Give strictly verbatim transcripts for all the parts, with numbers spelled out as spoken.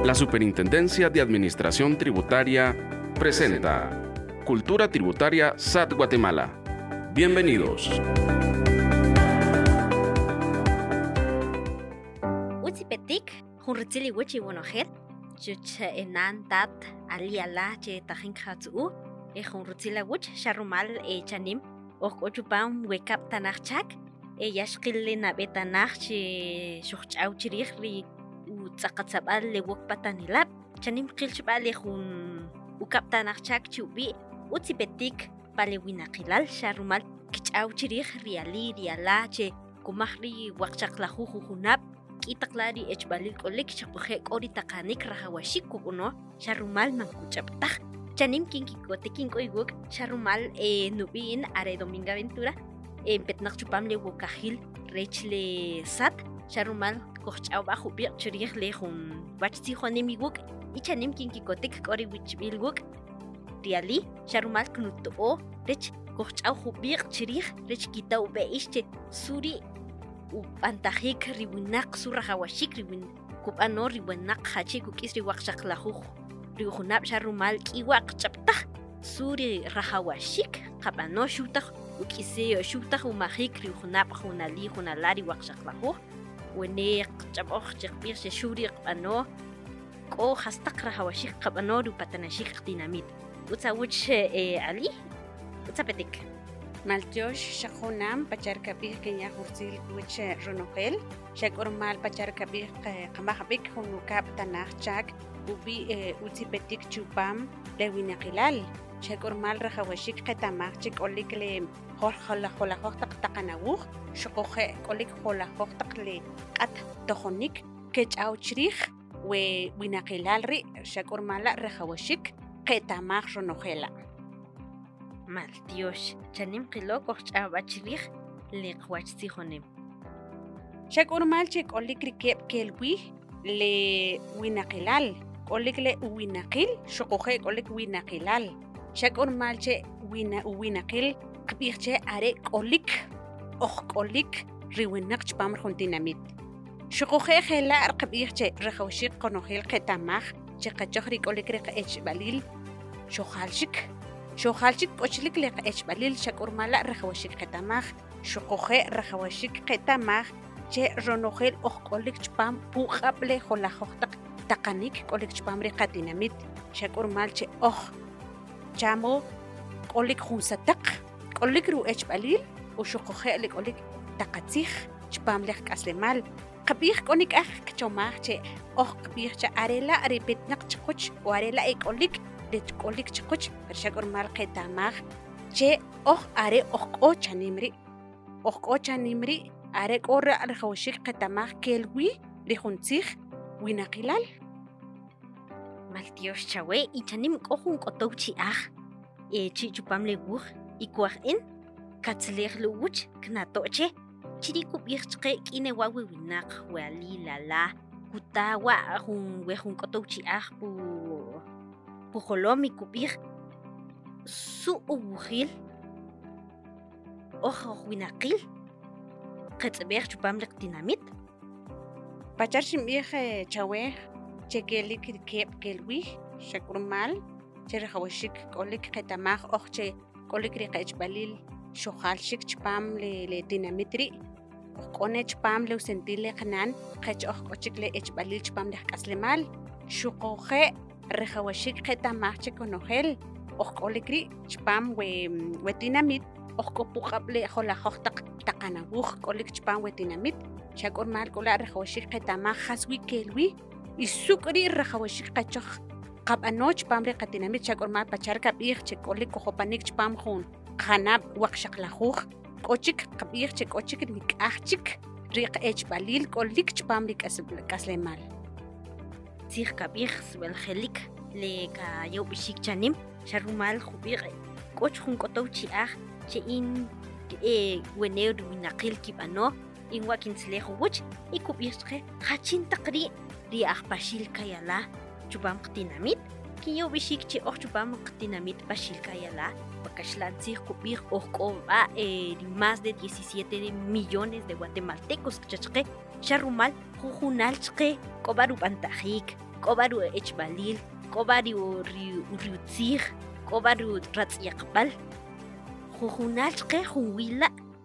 La Superintendencia de Administración Tributaria presenta Cultura Tributaria S A T Guatemala. Bienvenidos. Utzipetik, Junritzili Wichi Wonojet, Chuch Enan Tat, Aliala, Che Tajinkatsu, E Junritzila Wich, Sharumal, E Chanim, Ochupam, Wake Up Tanachak, E Yashkilina Betanach, Shuchauchiri, Utzakatzabal, Le Wok Patanilab, Chanim Kilchbale, Hun Ukap Tanachak, Chubi, Utzipetik, Palewinakilal, Sharumal, Kichauchiri, Riali, Riala, Che, Kumahri, Wakchaklahu, Hunab. Itaklari echbalil kolik chapuje ori takanik rahawashik kuno sharumal mankuchaptaj chanim kinkiko tekinko iguk sharumal e nubin are dominga ventura e petnak chupam le wokahil rechle sat sharumal kochau bajo bir chirih le hun wachti honim iguk y chanim kinkiko tek ori wichbil guk diali sharumal knuto o rech kochau hubir chirih rech kitau beische suri Upantajik ribunak surahawashik ribun kupano ribunak hachi kukis riwakshak lahu rihunab sharumal kiwak chapta suri rahawashik kapano shutah ukise shutah umahik rihunab hunali hunalari wakshak lahu wene chaboh chakbir shuri kapano ko hastak rahawashik kapano rupatanashik dinamit utsawuch ali utsapetik Maltiosh Shahunam, Pacharkabik, Kenya Hursil, which Ronogel, Shakormal, Pacharkabik, Kamahbik, Hunukap, Tanachak, Ubi Uzipetik Chupam, Lewinakilal, Shakormal, Rahawashik, Katamach, Chik Olikle, Horhola Hola Hotak Takanawuk, Shokohe, Olik Hola Hotakle, At Tohonik, Kech Auchrich, We Winakilalri, Shakormala, Rahawashik, Ketamach Ronogela. Maltiosh, chanim kilo kochawachirih, likwachtihonim. Shak urmal chek olikri kep kelwi, le winakilal, olikle winakil, shokohe olik winakilal. Shak urmal che wina winakil, kbirche are olik, och olik, riwinak chpam kontinamit. Shokohe hela arkbirche, rehawshik konohil ketamach, chekachohrik olikre ech balil, shohalshik. Shohalchik pochlik le echbalil shakurmala rahawashik ketamach shokoje rahawashik ketamach che ronogel okolik chpam puhable holahotak takanik kolik chpam re katinamit shakurmal che oh chamo kolik hunsatak kolik ru echbalil o shokoje le kolik takatzich chpam le kaslemal kabih konik ah chomach che oh kabih cha arela repetnak chkuch o arela ekolik de kolik chkuch pershakor mal ketamach che oh are oh o chanimri oh o chanimri are kor arhawshik ketamach kelwi de huntzich winakilal Maltiosh chawe y chanim kohun kotouchi ah e chi chupam le buh y kwahin katzler luwch knatoche chiriku birchke kine wawi winak wali lala kutawa hun we hun kotouchi ah pu Pujolomi kubir su ubujil ojo winakil qetzber chupam lek dinamit Pachar shimie chawe chekelik kep kelwi shakurmal cherhawshik kolik ketamach ochche kolik riqech balil shohalshik chpam le le dinamitri qone chpam le sentile khanan qech och ochik le ech balil chpam le kaslemal shuqoje Rehawashik ketamach chekonogel, ochkolikri, chpam we wetinamit, ochkopukable holahotak takanabuch, kolik chpam wetinamit, chakormal kola rehawashik ketamach haswi kelwi, isukri rehawashik kachoch, kabanoch pamre katinamit, chakormal pachar kabir, chekolik kohopanik chpam hun, hanab wakshaklahuch, kochik kabir, chekochik nikachik, riq ech balil, kolik chpam rik kaslemal. Sir kabir swel helik le ka yo bishik chanim sharumal khubir koch hun kotouchi ah che in e weneu winakil kibano in wakin slehu wuch ikubirche hachin taqri ri ah bashil kayala chubam qtinamit ki yo bishik che och chubam qtinamit bashil kayala bakashlan sir kubir och ba e más de diecisiete millones de guatemaltecos chachqe sharumal jujunalchqe kobaru pantajik Kobaru echbalil, kobaru riutzig, kobaru ratziyakbal. Jujunachke junwila.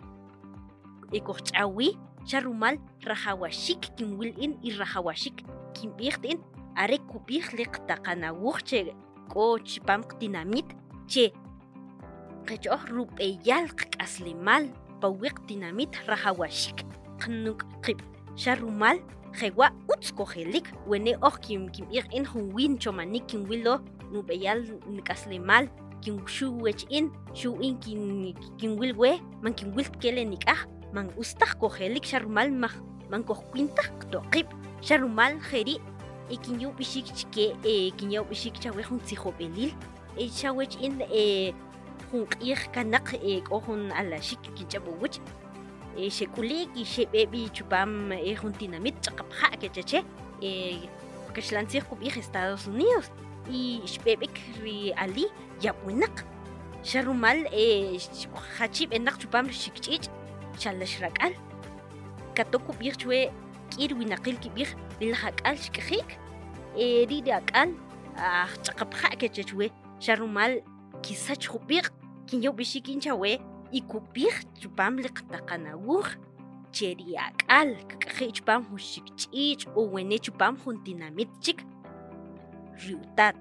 Ekochawi, charumal, rahawashik, kimwilin y rahawashik, kimbirtin, are kubih liqtaqanawuche, ko chipam dinamit, che. Kechoh rupeyal aslimal, pawiq dinamit rahawashik, knuk qib, charumal, jewa utskohelik, wene oh kim kim ir in hunwin chomanik kimwilo, nubeyal nikaslimal, kim shuwech in, shu in kin kimwilwe, man kimwil kelenik ah. Man ustah kohelik sharumal mah man kohquintah toqib sharumal kheri e kinyo bishik chike e kinyo bishik chawe hun tsihobelil e chawech in e hun qih kanak e kohun ala shik kichabuch e shekulik i shebebi chupam e hun dinamit chaqapha kecheche e kashlansi khubih Estados Unidos y shbebek ri ali yabunak sharumal e khachib enak chupam shikchich chalash rakal katoku birchwe kirwinaqil kibir lilhaqal shkkhik eri rakal ah chaqapha kechechwe sharumal kisach khubir kinyo bishikin chawe ikubir chupam liqtaqanawur cheriaqal kkhik chupam hushikchich o wene chupam juntinamit chik riutat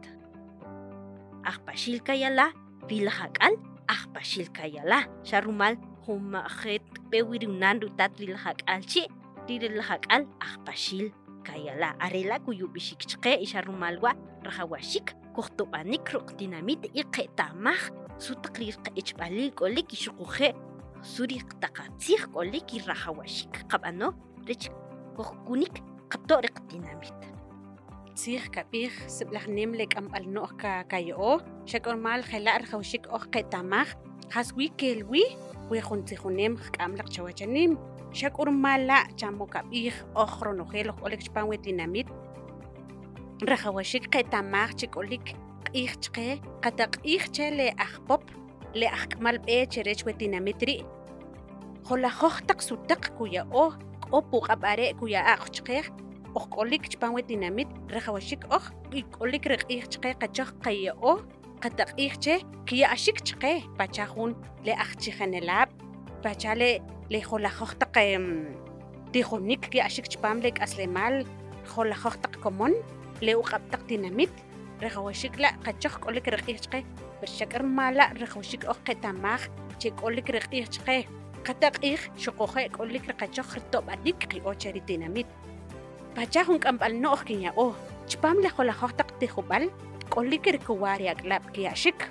ahpashil kayala bilhaqal ahpashil kayala sharumal huma khet pewiriunan rutat rilhak alchi rilhak al ahpashil kayala arela kuyubishik chqe isharumalwa rahawashik kohtobanik rok dinamit iqetamah sutaqrir qechbalil kolik ishuquje suri taqatsir kolik rahawashik qabano rich kohkunik qabtoriq dinamit tsir kabir siblagnem lek am alno ka kayo shakormal khela rahawashik oh qetamah haswi kelwi ويخونتيخونيم خاملق شواجنيم شاكور مالا جامو كابيخ أخرو نخيلو قولك شبان وديناميت رخواشيك قيتاماخ تشيكوليك قيخ تشقي قطق قيخ تشالي أخبوب لي أخكمال بيه تشريش وديناميتري خولا خوخ تقسوتق كويا أوه أوبو قباري كويا أخ تشقيخ أخ قولك شبان وديناميت رخواشيك أخ قولك رقيخ تشقي قجاخ قيا أوه قطق إيخته كي أشيك تقى بتشاخون لأختي خنلاب بتشالي لخلا خختق تيخونيك كي أشيك تباملك أسلمال خلا خختق كمون لو قبتق ديناميت رخوشيك لا قجاخ قولك رقيق تقى برشكر مالا رخوشيك أخ تماخ تيك قولك رقيق تقى قطق إيخ شقوخي قولك رقجاخ رتوب أديك كي أوتشري ديناميت بتشاخون كمبال نوخ كيا أوه تبامل خلا خختق تيخوبال قولك ركواري أقلاب كي أشك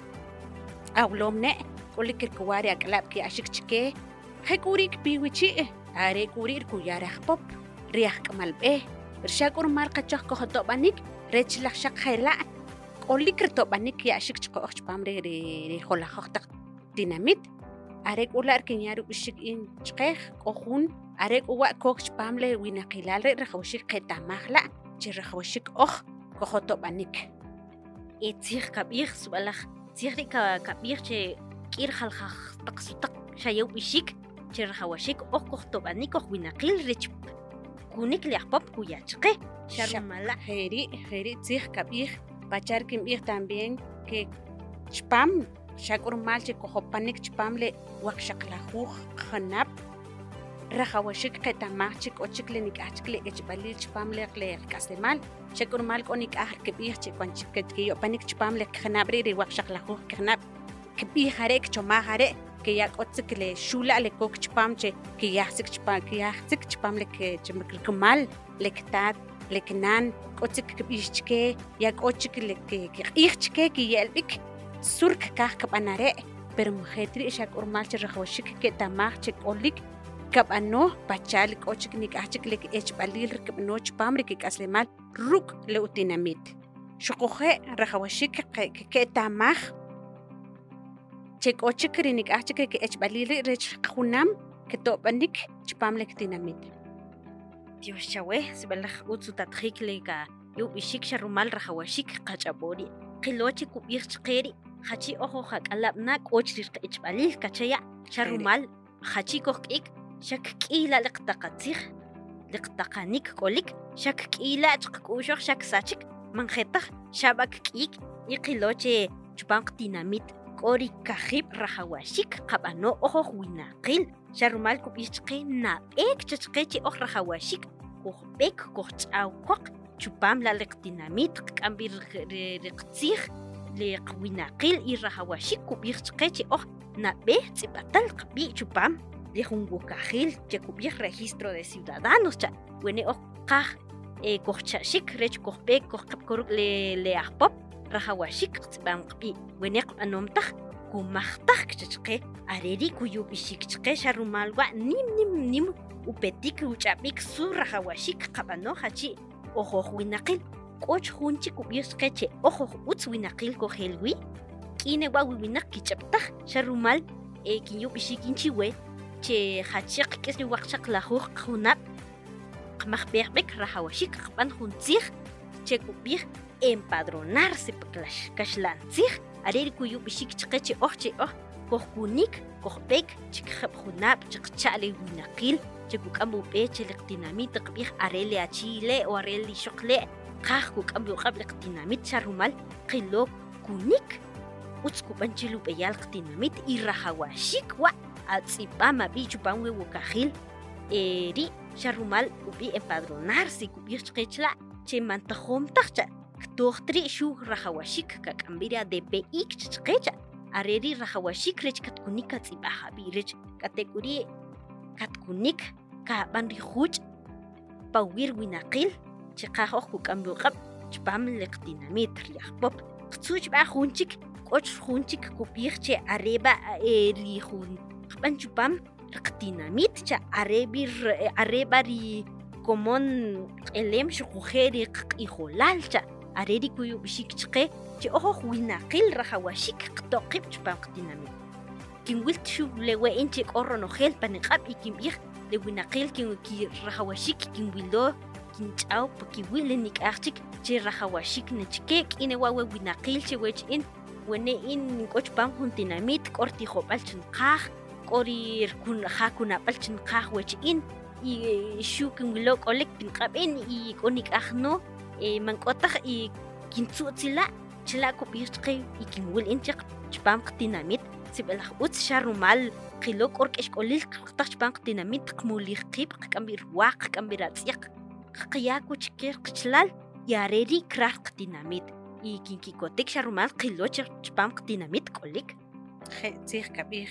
أو لومنا قولك ركواري أقلاب كي أشك تشكي خيكوريك بيوتشي هاري كوري ركو يارخ بوب رياخ كمال بيه رشاكور مارقة جوخ كوخطو بانيك ريتش لخ شاق خيلا قولك رتو بانيك كي أشك تشكو أخش بامري ري خولا خوختق ديناميت أريك أولا أركين يارو بشك إن تشكيخ كوخون أريك أوا كوخش باملي وينا قلال ري رخوشيك قيتا ماخلا جي رخوشيك أخ كوخطو بانيك إتيخ كبير سؤالخ تيخري كبير شيء كير خلخ تقصتق شيء بيشيك شيء خواشيك أو كختب أنيك أو بناقيل ريتشب كونيك ليحبب كوياتشقي شرم ملا خيري خيري تيخ كبير بachar كبير también que chpam شاكور مالشي كوخبانيك chpam لي وقشق لخوخ خناب رخواشيك قتاماخشيك أوشيك لنيك أشيك لي إجبالي chpam لي قلي كاسلمال شكر مالك أنيك آخر كبير شكوان شكت كيو بانيك شبام لك خنابري ري وقشق لخوخ خناب كبير هريك شما هريك كي ياك أتسك لي شولا لكوك شبام شي كي يحسك شبام كي يحسك شبام لك جمك الكمال لك تات لك نان أتسك كبير شكي ياك أتسك لك كي شكي كي يلبك سورك كاخ كبانا ري برمخيتري شكر مالك رخوشك كي تاماخ شك أوليك كاب أنو بتشالك أوشك نيك أحكي لك إيش باليل ركب أنو شبام ركيك أسلمال روك لأوتيناميت شقوخي رخوشيك كتامخ تشيك أوشك رينيك أحكي لك إيش باليل ريش خونام كتوبانيك شبام لك تيناميت Dios chawe sibelach utsu tatkhik leka yo bishik sharumal rkhawashik qachapori qilochi kubir chqeri khachi ojo khaqalabna qochrir qechbalil kachaya sharumal khachi kokik shak qila liqtaqatsig liqtaqanik kolik shak qila chqkushoq shak sachik manjetaj xabak k'ik iqiloche chupanq tinamit k'ori kajib rajawashik qab'ano ojoj winaqil xarumal kub'ix chqe nab'ek chachqe chi oj rajawashik kojb'ek kojch'awkoq chupam la liqtinamit qk'amb'i riqtzij liqwinaqil y rajawashik kub'ij chqe chi oj nab'ej tz'ib'atal qab'i' chupam li jun wukajil che kub'ij registro de ciudadanos cha wene oj qaj e kojcha'xik rech kojb'ek kojqab'koruq le le ajpop rajawashik tz'ib'am qab'i' wene qb'anom taj kumajtaj chachqe areri kuyub'ixik chqe xarumal wa nim nim nim upetik uch'ab'ik su rajawashik qab'ano jachi ojoj winaqil k'och jun chik kub'ij chqe che ojoj utz winaqil kojelwi k'ine wa wiwinaq kich'abtaj xarumal e kinyub'ixik inchiwe che jachiq k'is ri waqchaq lajuj qjunab' qmajb'ejb'ek rajawashik qab'an jun tziij che kub'ij empadronarse paklax kaxlantzij areri kuyub'ixik chqe che oj che oj kojkunik kojb'ek chikjab' junab' chiqcha'li winaqil che kuk'am ub'e che liqtinamit qab'ij are li achile o are li xoqle qaj kuk'am uq'ab' liqtinamit xarumal qilo kunik utz kub'an chi lub'eyal qtinamit y rajawashik wa atz'ib'am ab'i chupan we wukajil eri xarumal ub'i empadronarse kub'ij chqe chla' che mantajom taj cha ktojtri xu rajawashik kak'amb'i A D P I chqe cha areri rajawashik rech katkunik katz'ib'aj ab'i rech katek'uri katkunik kab'an ri juch' pawir winaqil che qaj oj kuk'am uq'ab' chpam liqtinamit ri ajpop qtzuchb'aj jun chik k'och jun chik kub'ij che areba ri jun qab'an chupam liqtinamit cha arebi areba ri komon q'elem xuquje ri q'iijolal cha areri kuyub'ixik chqe che ojoj winaqil rajawashik qtoqib' chpam qtinamit kinwilt xu lewe'in che k'o ronojel paniq'ab' y kinb'ij le winaqil ki rajawashik kinwilo kinch'aw pa kiwil nik'aj chik che rajawashik nechke k'ine wa we winaqil che wech'in wene in k'o chpam jun tinamit k'o rtijob'al chinqaj k'o ri ja kunab'al chinqaj wech'in y xu kinwilo k'olek pinq'ab'in y k'o nik'aj no man k'o taj y kintzu'tzila' chila' kub'ij chqe y kinwil in che chpam qtinamit sib'elaj utz xarumal qilo k'o rk'exk'olil qtaj chpam qtinamit qmulij qiib' qk'amb'i rwaq qk'amb'i ratz'yaq qaqyaku chike qchlal y areri krar qtinamit y kinkikotek xarumal qilo chpam qtinamit k'olik je tzij kab'ij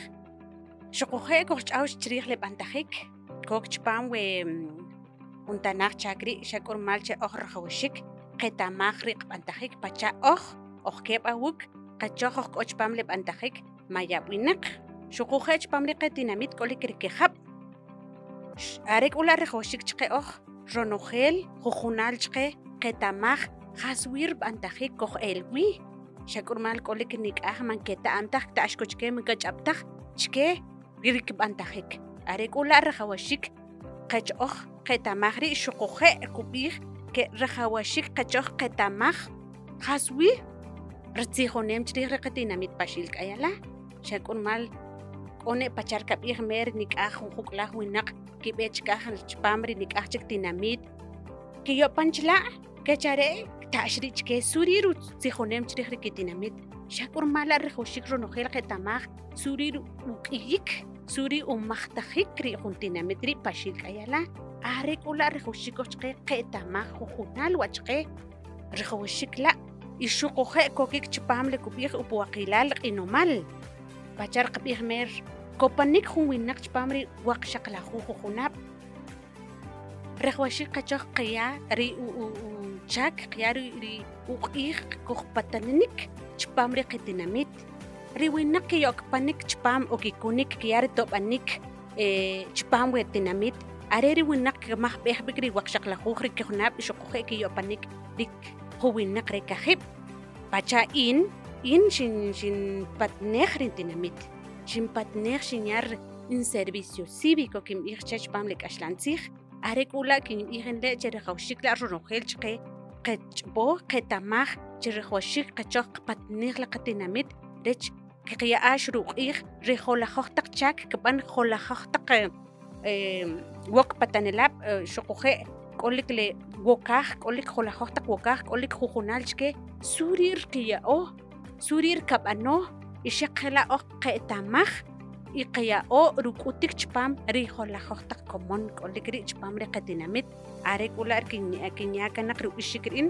xuquje kojch'aw chriij le b'antajik kok chpam we untanaj chakri xak'urmal che oj rajawashik qetamaj ri qb'antajik pacha oj oj keb' awuk qachoj oj k'o chpam le b'antajik mayab'winaq xuquje chpam ri qetinamit k'olik rikejab' are k'ula rajawashik chqe oj ronojel jujunal chqe qetamaj jaswir b'antajik koj elwi xak'urmal k'olik nik'aj man keta'am taj ta'axko chke man kach'abtaj chke rik b'antajik are k'ula rajawashik qech oj qetamaj ri xuquje kub'ij ke rajawashik qachoj qetamaj jaswi ritzijonem chriij ri qatinamit paxil k'ayala xak'urmal k'one pachar kab'ij mer nik'aj jun juk'laj winaq kib'e chkaj chpam ri nik'aj chik tinamit kiyo'pan chila' kechare' ta'x ri chke suri rutzijonem chriij ri kitinamit xak'urmal la rajawashik ronojel qetamaj suri uk'iyik suri umajtajik ri jun tinamit ri paxil k'ayala are k'ula rajawashik oj chqe qetamaj jujunal wa chqe rajawashik la' y xuquje kokik chpam li kub'ij upuwaqilal q'inomal pachar qab'ij mer kopanik jun winaq chpam ri waqxaqlajuj jujunab' rajawashik qachoj qaya ri chak qaya ri uq'ij kojpatanik chpam ri qatinamit ri winaq kiyo'kpanik chpam o kikunik kaya ri to'b'anik chpam we tinamit are ri winaq kamajb'ej b'ik ri waqxaqlajuj ri kijunab' y xuquje kiyo'panik rik jun winaq re kajib' pacha in in xin xin patnej ri tinamit xin patnej xinyar in servicio cívico kinb'ij che chpam li k'axlantzij are k'ula kinb'ij inle' che rajawxiik la ronojel chqe qechb'oj qetamaj che rajawxiik qachoj qpatnej la qatinamit rech qiya'ax ruq'iij ri jolajoj taq chak kib'an jolajoj taq woq patanilab' xuquje k'olik le wokaj k'olik jolajoj taq wokaj k'olik jujunaal chke surir qiya'oj surir kab'anoj ixaq kela' oj qe'tamaj y qiya'oj ruk'utik chpaam ri jolajoj taq komon k'olik ri' chpaam ri qatinamit are k'ula' kinya' kanaq rib'ixiik ri'in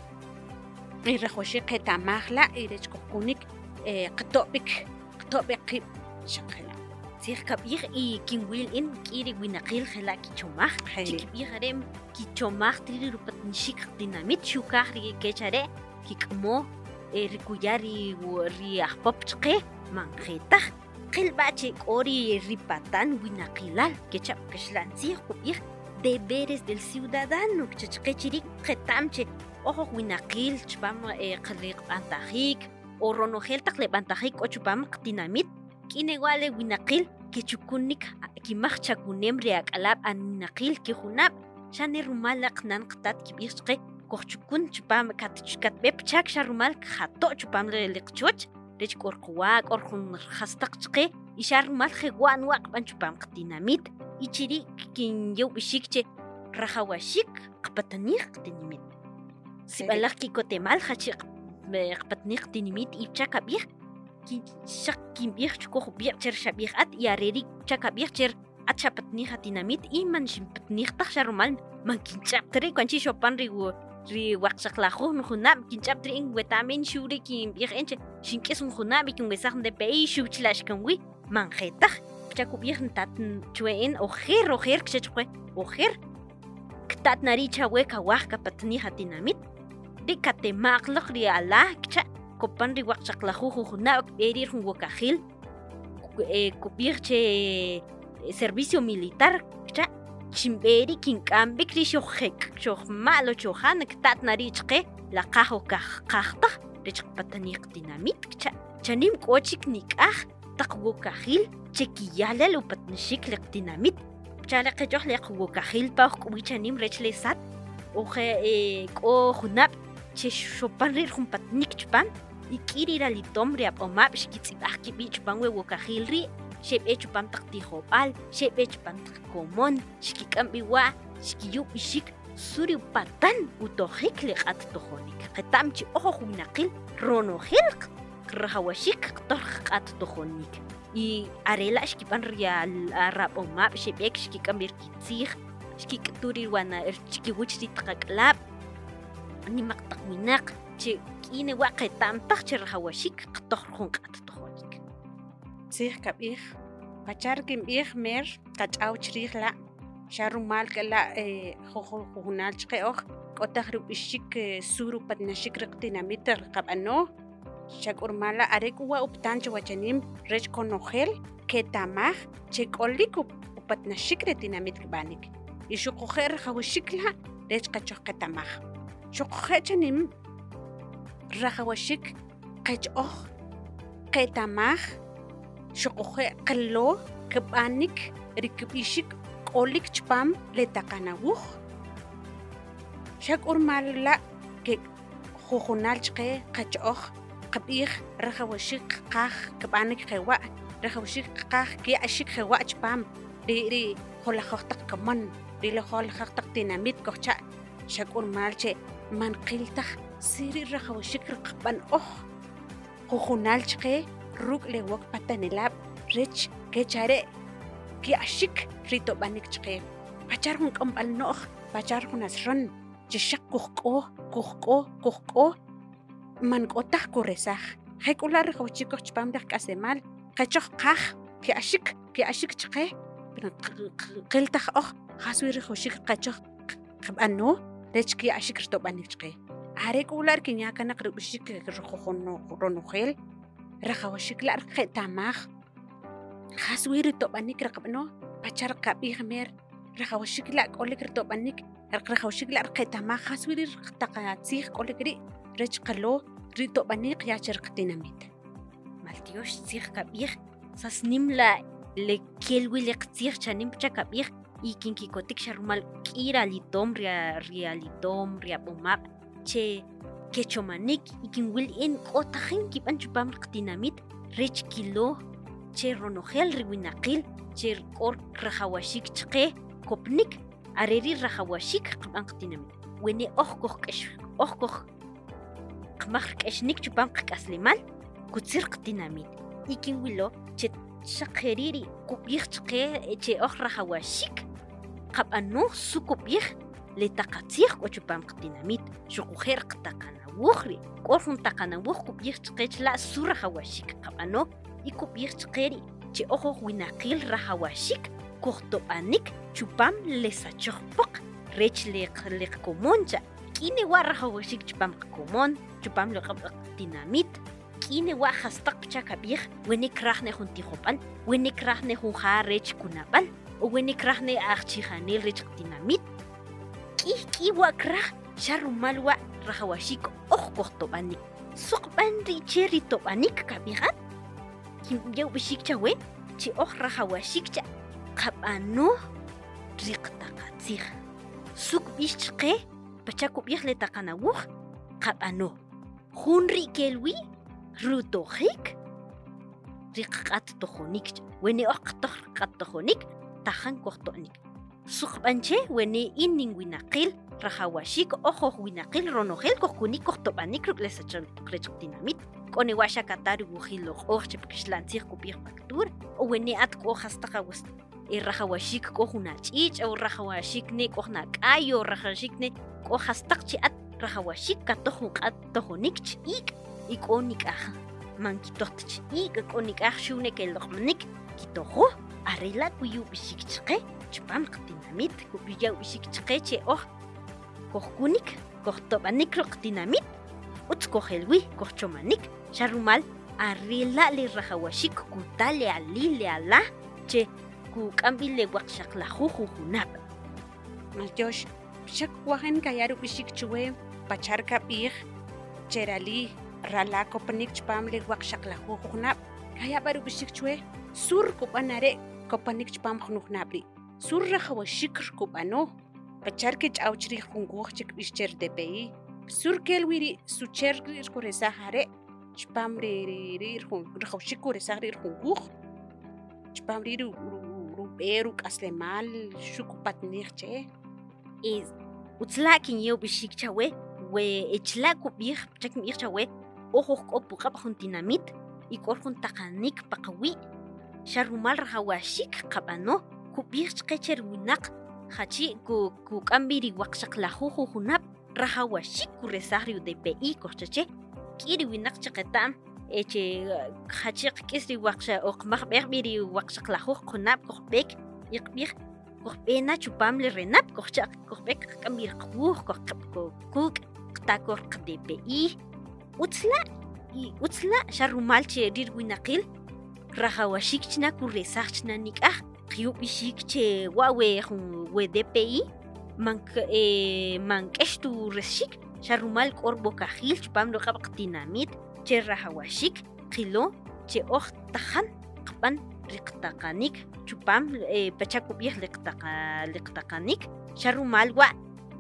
y rajwaxiik qe'tamaj la' y re'ch kojkunik qato'b'ik qato'b'ik qiib' xaq kela' Sih kab'ij y kinwil in k'iri winaqil jela' kichomaj chikib'ij are' kichomaj tiri rupatnixik dinamit xukaj ri kech are' kik'amoj rikuya' ri ri ajpop chqe manjetaj qilb'a' che k'o ri ripatan winaqilal kechab' kaxla'ntzij kub'ij deberes del ciudadano chachqe chiri' qeta'm che oj winaqil chpam qliqb'antajiik o ronojel taq leb'antajiik k'o chupam qtinamit k'inewa' le winaqil kichukunik kimaj chakuneem ri ak'alaab' aninaqil kijunab' xa' ne rumal la qnan qtat kib'ij chqe kojchukun chipam katb'e pi chaak xa' rumal kajато' chipam li qchooch re'ch k'o rqawa' k'o jun jas taq chqe y xa' rumal jewa' anwa' qab'an chipam qatinamit y chiri' kinyew b'ixiik che rajawxiik qapatnij qatinimit sib'alaj kikotemaal jach'i qapatnij qatinimit y cha kab'ij xaq kinb'ij chkoj b'iiq' cher xab'ij at y are ri cha kab'ij cher at xapatnij qatinamit y man xinpatnij taj xa' rumal man kinch'ab't ri' kuanchi' xopan ri ri waqxaqlajuj nujunab' kinch'ab't ri' weta'meen xu' ri kinb'ij re'en che xink'is junjunab' y kinwesaj jun D P I xu' chila' xkinwij manjetaj cha kub'ij ntat chwe'en ojer ojer kchechqwe ojer ktat nari' chawe kawaj kapatnij qatinamit ri katema'q laj ri alaj cha kopan ri waqxaqlajuj jujunab' kb'e ri jun wokajil kub'ij che servicio militar cha xinb'e ri kink'am b'iik ri xojek xojma' lo chojan ktat nari' chqe laqaj o qaj taj re'ch qapatnij qatinamit cha chanim k'o chik nik'aj taq wokajil che kiya'lal upatnixik li qatinamit chale qechoj li qwokajil pa ojk'owi chanim re'ch le sat oje k'o junab' che xopan ri jun patnik chpam y k'iri ralitom ri ab'omaab' xkitz'ib'aj kib'ii chpam we wokajil ri' xeb'e chupam taq tijob'al xeb'e chupam taq komon xkik'am b'iwa' xkiyub' b'ixiik suri patan utojik li q'at tojonik qeta'm chi oj winaqil ronojil rajawxiik qtoj q'at tojonik y arela' xkib'an ri rab'omaab' xeb'ek xkik'am b'ir kitzij xkik'tu ri wana xkiwich ri taq ak'alaab' nimaq taq winaq che k'inewa' qeta'm taj che rajawxiik qtoj jun q'at tojonik tzij kab'ij pachar kinb'ij mer qach'aw chriij la' xa' rumal k'ela' jujunaal chqe oj k'o taq rib'ixiik sur upatnaxiik ri qatinamit qab'anoj xa' k'o rimal la' are' k'uwa' uptaan che wachanim re'ch konojel keta'maj che k'olik upatnaxiik ri tinamit kib'anik y xuqaje' rajawxiik la' re'ch qachoj qeta'maj xuqaje' chanim rajawxiik qech'oj qeta'maj xuqaje' qalo kib'anik ri kib'ixiik k'olik chpam li taqanawuj xa' k'o rimal la' ke jujunaal chqe qach'oj qab'ij rajawxiik qaj kib'anik jewa' rajawxiik qaj kiya'xiik jewa' chpam ri ri jolajoj taq kamon ri jolajoj taq tinamit kojcha' xa' k'o rimal che man qil taj siri rajawxiik qab'anoj jujunaal chqe ruk' li wok patanilaab' re'ch kech are' kiya'xiik ri to'b'anik chqe pachar jun k'omb'al no'j pachar jun asron che xaq kujk'o kujk'o kujk'o man k'o taj kuresaj jek'ula' rajawxiik koj chpam laj k'asemaal qechoj qaj kiya'xiik kiya'xiik chqe qil taj oj qas wi rajawxiik qechoj qab'anoj re'ch kiya'xiik rito'b'anik chqe are' k'ula' kinya' kanaq rib'ixiik ronojeel rajawxiik la' qeta'maj qas wi rito'b'anik qab'anoj pachar kab'ij mer rajawxiik la' k'olik rito'b'anik rajawxiik la' qeta'maj qas wi taq tziij k'olik ri' re'ch qalo rito'b'anik ya che qatinamit maltiox tziij kab'ij sas nim la le kel wi li qtziij chanim cha kab'ij y kinkikotik xa' rumal k'ir alitom ri alitom ri ab'omaab' che kechomanik y kinwil in k'o tajin kib'an chupam qatinamit re'ch kilo che ronojel ri winaqil che k'o rajawxiik chqe kopnik are ri rajawxiik qab'an qatinamit wene ohkoh kesh ohkoh qmaq keshnik chupam qaslimal kutsir qtinamit ikin wilo che shaqeriri kubih chqe che ohra hawashik qabano sukubih le taqatsir ko chupam qtinamit shuqher qtaqana wukhri korfun taqana wukh kubih chqe la sura hawashik qabano ikubih chqeri che ojo winaqil rahawashik kohto anik chupam le sachokpok rech le le komoncha kine wa rahawashik chupam komon chupam le dinamit kine wa khastaq chakabih wenik rahne junti khopan wenik rahne jun kharech kunapal o wenik rahne archi khanil rech dinamit ki ki wa krah sharumal wa rahawashik oh kohto anik suqban ri cheri to anik kabihat kim yau bishik chawe chi oh rahawashik cha qabano riqtaqatsir suk bishqe pachakub yahle taqanawuh qabano hunri kelwi rutohik riqat tohonik wene oqtoh qat tohonik tahan kohtonik suqbanche wene inning winaqil rahawashik ojo winaqil ronohel kohkunik kohtobanik ruklesacham qrechtinamit kone washa katari wuhilo orche pkishlantir kupir paktur o wene at ko hastaqawast e rahawashik ko hunachich o rahawashik ne ko na kayo rahawashik ne ko hastaqchi at rahawashik katohun qat tohonik ik ikonik ah mankitohtch ik ikonik ah shune kelokmanik kitoho arela kuyu bishikchqe chpam qtinamit kubiya bishikchqe che oh kohkunik kohtobanik qtinamit utskohelwi kohchomanik sharumal arela le rahawashik kutale ali le ala che ku kambile waqshaq la khujunab maljosh shak wahan kayaru bishik chwe pachar kabir cherali rala kopanik chpam le waqshaq la khujunab kaya baru bishik chwe sur kopanare kopanik chpam khunabli sur rahawashik kopano pachar ke chawchri khunguch chik bishcher dpi sur kelwiri sucher koresa hare chpam re re khun rahawashik koresa re khunguch chpam re Peru kaslemal shukupat nirche is utslakin yo bishik chawe we echlaku bih chak mir chawe ojo kopu qab dinamit ikor jun taqanik paqawi sharumal rahawashik qabano kubih chqecher winaq hachi ku ku kambiri waqshaq la juju junab rahawashik kuresariu de pi korchache kiri winaq chaqetam eche khachik kisri waqsha oqmaq berbiri waqshaq la juj qunab qoqbek iqbih qoqbena chupam le renap qoqchaq qoqbek kambir quj qoqko kuk qtakor qdpi utsla i utsla sharumal che rir winaqil rahawashik chna kuresachna nikah qyubishik che wawe we dpi mank e mankeshtu reshik sharumal qorbo kahil chupam lo qabqtinamit che rahawashik qilo che oq tahan qaban riqtaqanik chupam e pachakubih liqtaqa liqtaqanik sharumal wa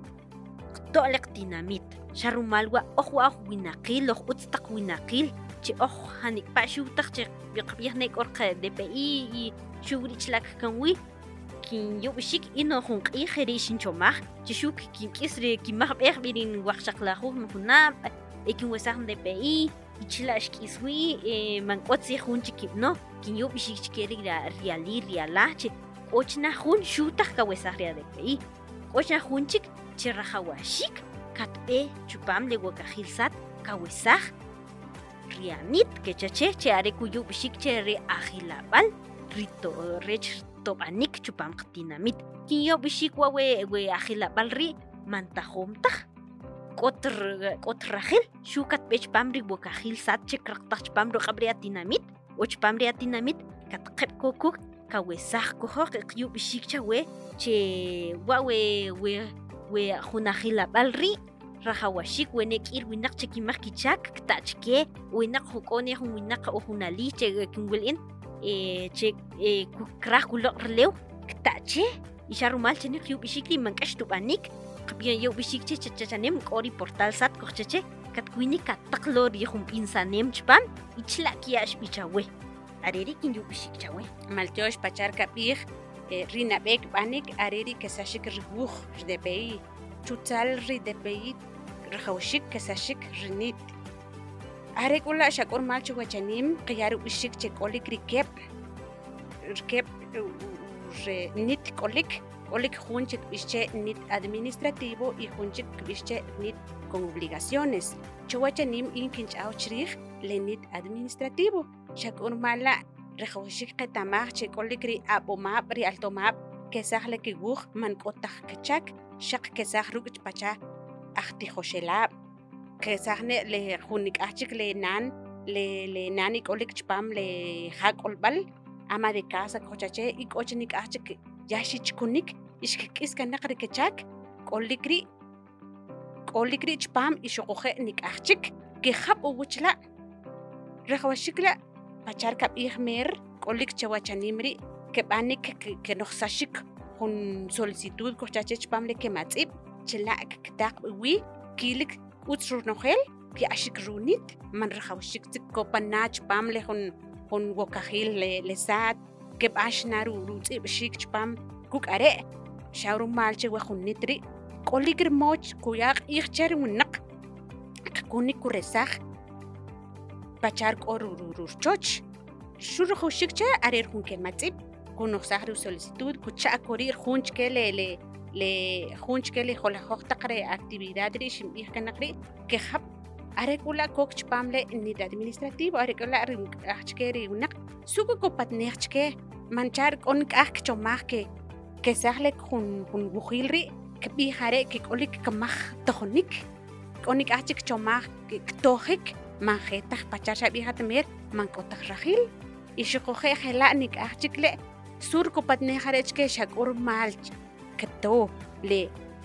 to liqtinamit sharumal wa oq wa winaqil oq utstaq winaqil che oq hanik pa shu taq che biqbih nek orqa dpi shurich lak kanwi kin yubishik ino hun qixeri shinchomah che shuk kin kisre kimah berbirin waqshaqlahu hunab ekin wasaq dpi ichilash kiswi e mankotsi junchi kipno kinyo bishikeri riali riala che ochna jun shutaq kawesarria de pi ochna junchik chirahawashik katbe chupam le wakajilsat kawesaj rianit que chache che are kuyu bishik che re ajilabal rito rech tobanik chupam qtinamit kinyo bishik wa we we ajilabal ri mantajomtaj Kotr kotrahil shukat bech pamri bokahil sat chekraqtach pamro qabria dinamit och pamria dinamit katqep kokuk kawesaj kohok qyu bishik chawe che wawe we we hunahila balri rahawashik wenek ir winak chekimach kichak ktachke winak hukone winak ohunali che kinwilin e che e kukrah kulok relew ktache isharumal chene qyu bishikli mankashtu banik Bien yo bishik che chachanem kori portal sat kocheche kat kuini kat taklor yhum insanem chpan ichla kiash bichawe areri kin yo bishik chawe maltosh pachar kapir rina bek banik areri kesashik rbuh jdepei chutzal ri depeit rajawshik kesashik rinit arekula shakor mal chuwachanim qiyar ubishik chekolik rikep rikep re nit kolik kolik junchik bische nit administrativo y junchik bische nit con obligaciones chuwachanim inkinch auchrich le nit administrativo shakor mala rajawshik qetamaj chekolik ri abomab ri altomab kesaj le kiguj man kotaj kechak shaq kesaj ruk pacha ajti joshelab kesajne le junik achik le nan le le nani kolik chpam le jakolbal ama de casa kochache y kochnik achik yashich kunik ishkikis kanaqri kechak kolikri kolikri chpam ishoqoje nik achik ke jab uwchla rajawshikla pachar kab ihmer kolik chawachanimri que banik que nos sashik con solicitud kochache chpam le que matzib chela ktak wi kilik utsur nogel que ashik runit man rajawshik kopanach pam le con con wokahil le le sat que bashnaru rutzib shik chpam kuk are shawru malche wa khunitri koligr moch kuyak ichcher unaq kunik kuresaj pachar korururchoch shurujshik cha arer hun que matzib kunoxahru solicitud kucha korir junch que le le le junch que le jola hoxtaqre actividad ri shim ihkanaqri que hab arekula kokch pamle nit administrativo arekula achkeri unaq suku kopatnechke manchar kon kach chomaj que que sahle kun kun bujilri que bihare que kolik kamaj tonik konik achik chomaj que tojik manjetaj pachasha bihatmer man kotaj rajil y shikoje helanik achikle surko patnejarech que shakur malch que to le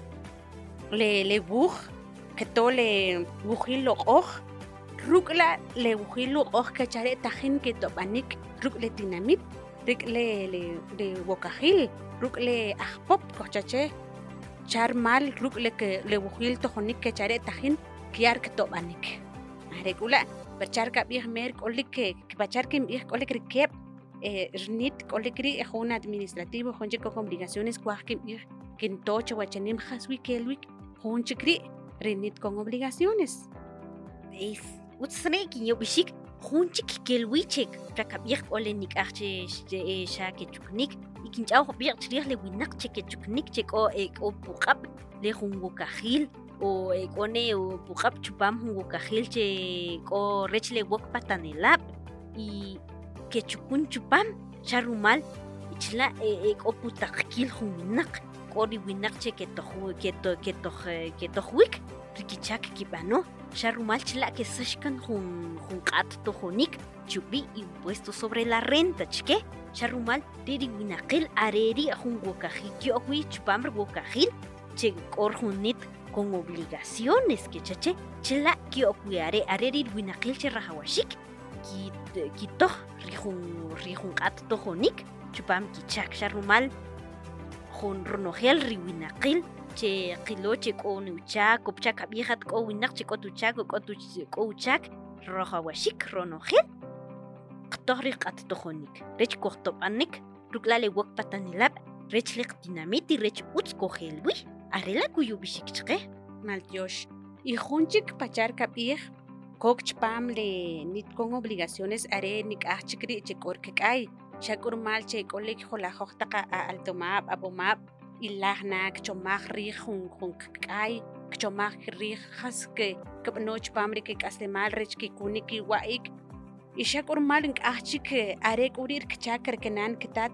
le le buj que to le bujilo oj rukla le bujilo oj que chare tajin que topanik ruk le dinamit rik le le le bokajil ruk le ajpop kochache char mal ruk le que le bujil tojonik que chare tajin kiar que topanik arekula bachar ka bih mer kolik que bachar que bih kolik rikep eh nit kolikri es un administrativo jonche con obligaciones cuajkim kin tocho wachanim haswi kelwik jonchikri renit con obligaciones es utsne ki yobishik jonchik kelwichek rakabih olenik arche shake chuknik ikinchaw bir chrih le winak cheke chuknik cheko ek o puqab le jungo kajil o ekone o puqab chupam jungo kajil che ko rechle wok patanelab y que chukun chupam charumal ichla ek oputakil hunak kori winak che que tohu que to que to que tohuik rikichak kibano charumal chla que sashkan hun hun qat tohonik chubi impuesto sobre la renta chke charumal diri winakil areri hun wokajiki okwi chupam wokajil che kor hunit con obligaciones que chache chla que okwiare areri winakil che rahawashik ki kitoh rihun rihun qat tohonik chupam kichak sharumal jun ronogel riwinaqil che qiloche konuchak kopchak abihat ko winaq che kotuchak ko tuchak rohawashik ronogel qtohri qat tohonik rech kohtopanik ruklale wokpatanilab rech liq dinamiti rech uts kohelwi arela kuyubishik chqe maltiosh y junchik pachar kabih kokchpam le nit con obligaciones are nik achikri chekor kekay shakur mal che kolik jola hoxtaqa altomab abomab ilahnak chomaj ri jun jun kekay chomaj ri haske kabnoch pamri ke kastemal rech ki kuniki waik y shakur mal ink achik are kurir kchakar kenan kitat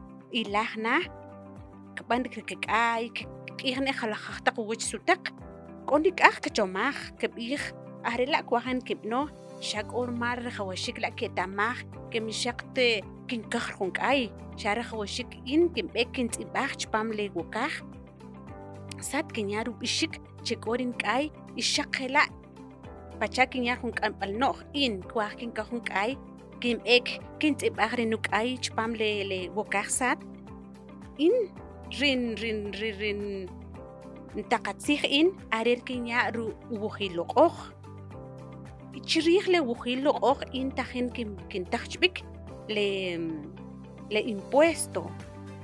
ilahna kaban kekay kihne jala hoxtaq wich sutak konik ach chomaj kebih arela kwahan kipno shak or mar khawashik la ke tamaj ke mishaqte kin kahrun kai shara khawashik in kim bekin tibach pam le wokah sat kinyaru bishik chikorin kai ishaqela pachakin yahun kampal no in kwahin kahun kai kim ek kin tibach renu kai chpam le le wokah sat in rin rin rin rin ntaqatsih in arer kinyaru ubuhiloq chirih le wujilo og intajen kim kintachbik le le impuesto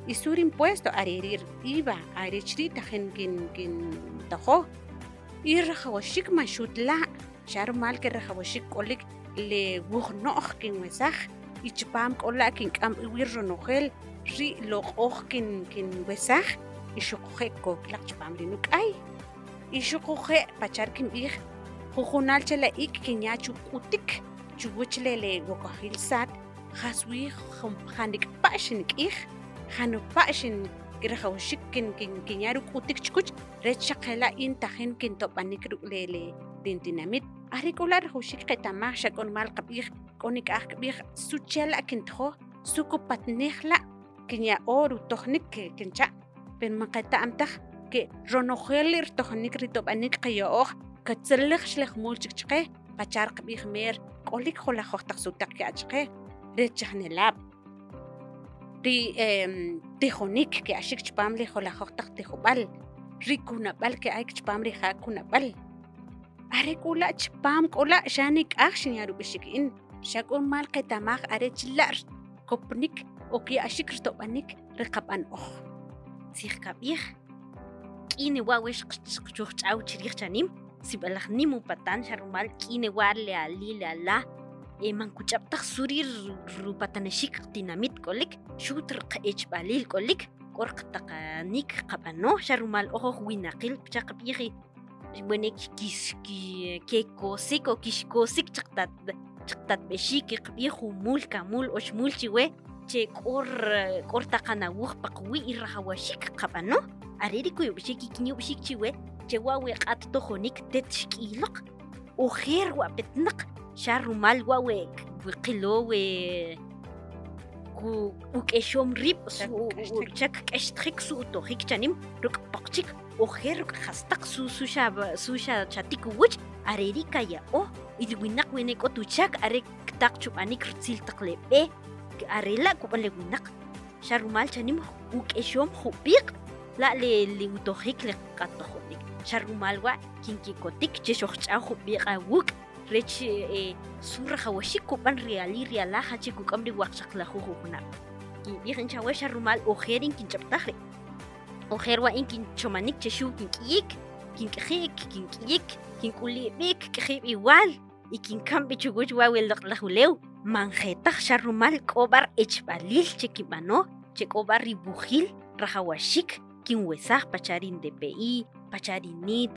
isur impuesto aririr iba arichrita gen kin kin tajo ir khawashik mashutla shar mal ke khawashik kolik le wugnoj kin wesaj ichpam kola kin kam wir ronogel ri loqoj kin kin wesaj ishuqje koklaq chpam linuk ay ishuqje pachar kin bih jujunal chela ik kinyachu utik chuwchle le wokahil sat khaswi khanik pashinik ich khanu pashin kirahawshik kin kin kinyaru utik chkuch rechaqela in tajen kin topanik lele dintinamit arikular hushik qetama shakon mal qabih konik aj qabih suchela kintjo sukupatnihla kinya oru tohnik kincha pen maqata amtaj ke ronogelir tohnik ritopanik qayooj katzellig shlech mulchik chqe pachar qabih mer kolik khola khoxtaq sutak ke achqe rechaqnelab ri em tijonik ke ashik chpamli khola khoxtaq tijobal rikuna bal ke ay chpamri hakuna bal arekula chpam kola shanik akshin yaru bishikin shakun mal qetamaj arechlar kopnik oki ashik rtobanik riqaban oj sih kabih kini wawesh qchuch chaw chirih chanim sibalaj nimu patan sharumal kini warle ali la e man kuchaptaj surir rupatanashik dinamit kolik shutr qech balil kolik qorqtaqanik qabano sharumal ojo winaqil chaqbihi wenek kis ki ke kosik o kishkosik chaqtat chaqtat beshik qbihu mul kamul oshmul chiwe che qor qortaqana wuq paqwi irhawashik qabano ariri kuyo beshik kinyo beshik chiwe che wawe qat tojonik tetshkiloq o khair wa betnaq sharumal wawe qilowe ku ukeshom rib su chak keshtrix su to hikchanim ruk paqchik o khair khastaq su su shab su sha chatik wuch ariri kaya o idwinak wenek o tuchak are taq chupanik rtsil taqlebe arela kupale winak sharumal chanim ukeshom khubiq la le li utohik le qatohnik sharumal wa kinki kotik che shokhcha khubiqa wuk rech e surra hawashik kupan reali reala hachi kukamri waqshaqla khukuna ki bihin chawa sharumal ojerin kinchaptajre ojerwa inkin chomanik che shu kinkik kinkik kinkik kinkulibik khib igual y kinkambi chuguch wawel laqlahulew manjetaj sharumal kobar echbalil chekibano chekobar ribujil rahawashik kinwesaj pacharin D P I pacharinit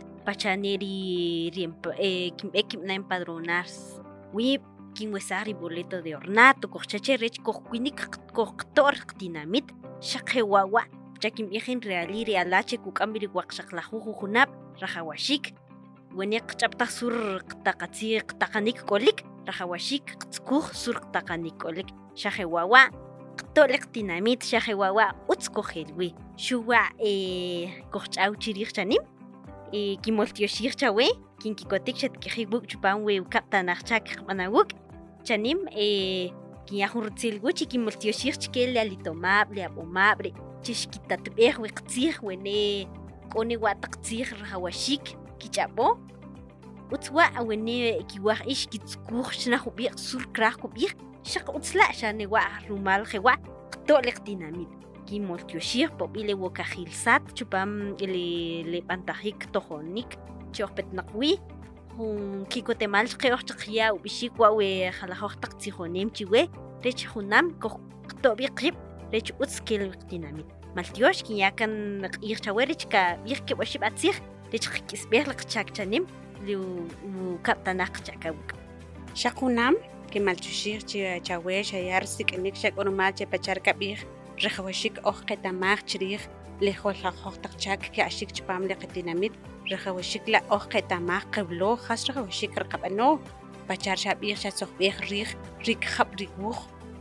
pachaneri eh, kim ekim na empadronars wip kinwesaj boleto de ornato kochache rech kokwinik koktor dinamit shaqewawa chakim ejen reali realache kukambiri waqshaqlahu junab rahawashik wenek chapta sur qtaqatsi qtaqanik kolik rahawashik qtskuj sur qtaqanik kolik shaqewawa qtolik dinamit shaqewawa utskojelwi shuwa eh kochaw chirih chanim e kimoltioshir chawe kinkikotik chatkijiwuk chupanwe ukaptanachak qmanawuk chanim e kiyahurtsilguchi kimoltioshir chkel alitomable abomable chishkitatbej wiqtzij wene koni wataqtzij rahawashik kichabo utzwa awene kiwaj ish kitskuj shnahubiq sur kraj kubij shaq utzla shane wa rumal jewa qtolik dinamit kimoltioshir pobile wokajilsat chupam le le pantajik tojonik chopetnaqwi hun kikotemal qeoj chqiya ubishik wa we khalajoj taqtsijonem chiwe rech junam qtobiqib rech utzkel dinamit maltiosh kiyakan qir chawerich ka birke washib atzig rech qisbeh qchakchanim lu kaptanaq chakawuk shaqunam kemalchushir chawe shayar siknik shakonumal che pachar kabih rehawashik oj qetamaj chirij lejol qaqtaqchak ke ashik chpam le qetinamit rehawashik la oj qetamaj qeblo khas rehawashik rqabano pachar shabih shasoqbih rij rik khab riguj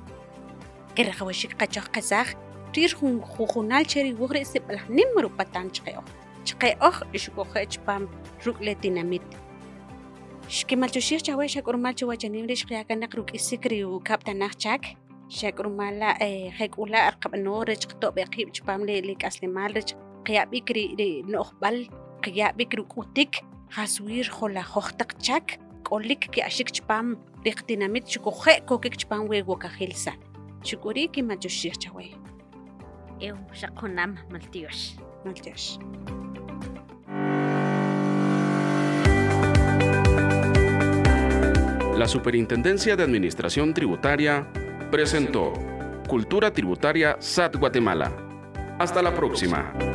ke rehawashik qachoj qazaj rir jun jujunal cheri wugre siblah nimru patan chqeoj chqeoj ishukoj chpam ruk le tinamit shkemal chushir chawe shakurmal chawachanim rish qiyakan ruk isikri u kaptanaj chak shakrumala eh hekula arqabno rech qto beqib chpam le le kaslemal rech qiyabikri noqbal qiyabikri kutik haswir khola khoxtaq chak kolik ki ashik chpam riqtinamit chukuje kokik chpam we wokajilsa shukuri ki machushir chawe eu shakonam maltiosh. Maltiosh. La Superintendencia de Administración Tributaria presentó Cultura Tributaria S A T Guatemala. Hasta la próxima.